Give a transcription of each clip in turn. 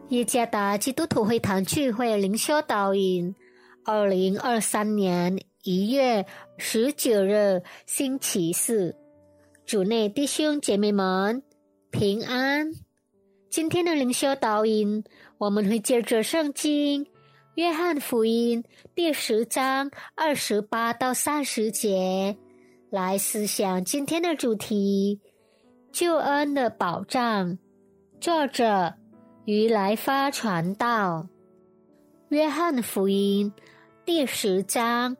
耶加达基督徒会堂聚会灵修导引2023年1月19日星期四，主内弟兄姐妹们平安。今天的灵修导引，我们会借着圣经约翰福音第10章28到30节来思想今天的主题：救恩的保障。作者于来发传道。约翰福音第10章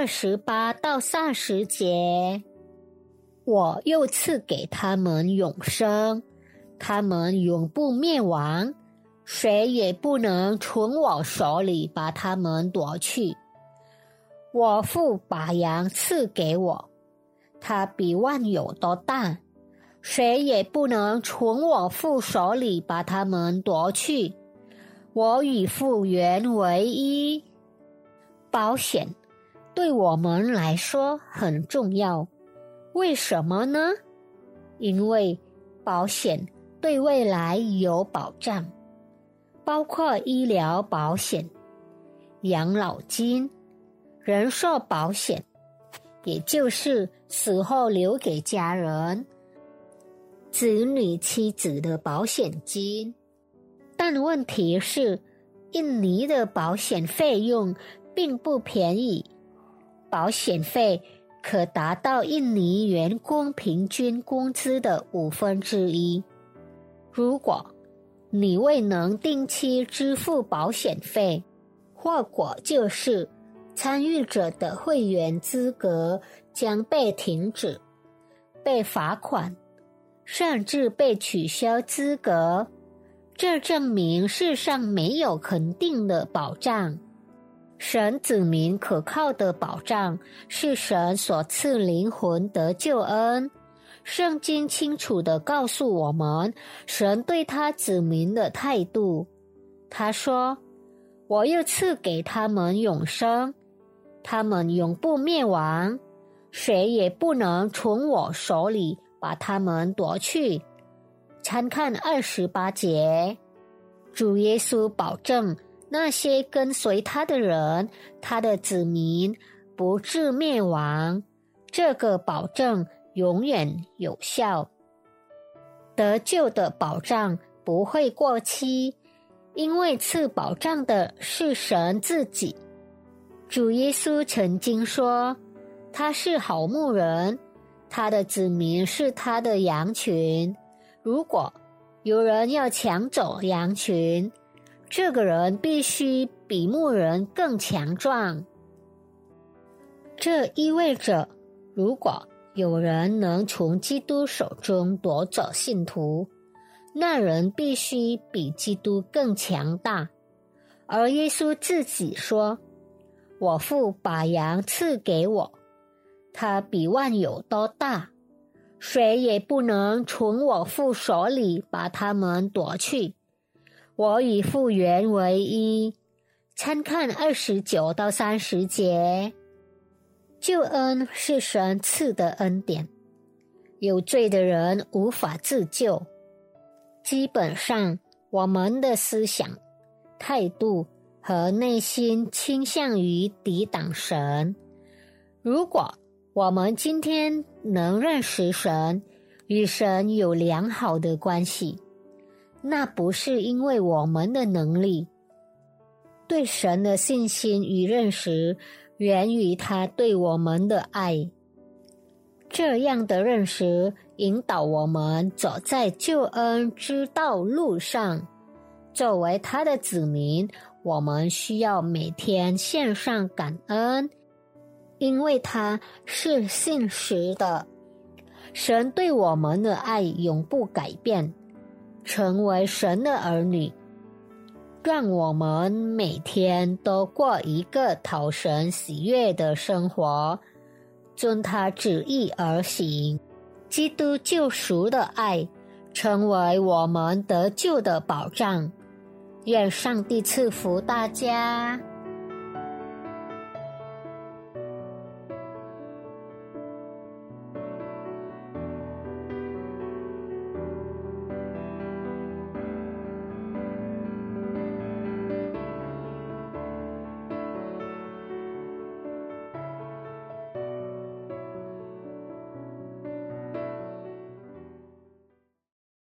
28到30节，我又赐给他们永生，他们永不灭亡，谁也不能从我手里把他们夺去。我父把羊赐给我，他比万有都大，谁也不能从我父手里把他们夺去。我与父原为一。保险对我们来说很重要，为什么呢？因为保险对未来有保障，包括医疗保险、养老金、人寿保险，也就是死后留给家人、子女妻子的保险金。但问题是，印尼的保险费用并不便宜，保险费可达到印尼员工平均工资的1/5。如果你未能定期支付保险费，后果就是参与者的会员资格将被停止、被罚款，甚至被取消资格。这证明世上没有肯定的保障。神子民可靠的保障是神所赐灵魂得救恩。圣经清楚地告诉我们神对他子民的态度。他说，我又赐给他们永生，他们永不灭亡，谁也不能从我手里把他们夺去。参看28节。主耶稣保证那些跟随他的人，他的子民不致灭亡，这个保证永远有效。得救的保障不会过期，因为赐保障的是神自己。主耶稣曾经说，他是好牧人，他的子民是他的羊群。如果有人要抢走羊群，这个人必须比牧人更强壮。这意味着，如果有人能从基督手中夺走信徒，那人必须比基督更强大。而耶稣自己说，我父把羊赐给我，他比万有都大，谁也不能从我父手里把他们夺去。我与父原为一。参看29到30节。救恩是神赐的恩典，有罪的人无法自救。基本上，我们的思想、态度和内心倾向于抵挡神。如果我们今天能认识神，与神有良好的关系，那不是因为我们的能力。对神的信心与认识源于他对我们的爱。这样的认识引导我们走在救恩之道路上。作为他的子民，我们需要每天献上感恩，因为他是信实的。神对我们的爱永不改变。成为神的儿女，让我们每天都过一个讨神喜悦的生活，遵他旨意而行。基督救赎的爱成为我们得救的保障。愿上帝赐福大家。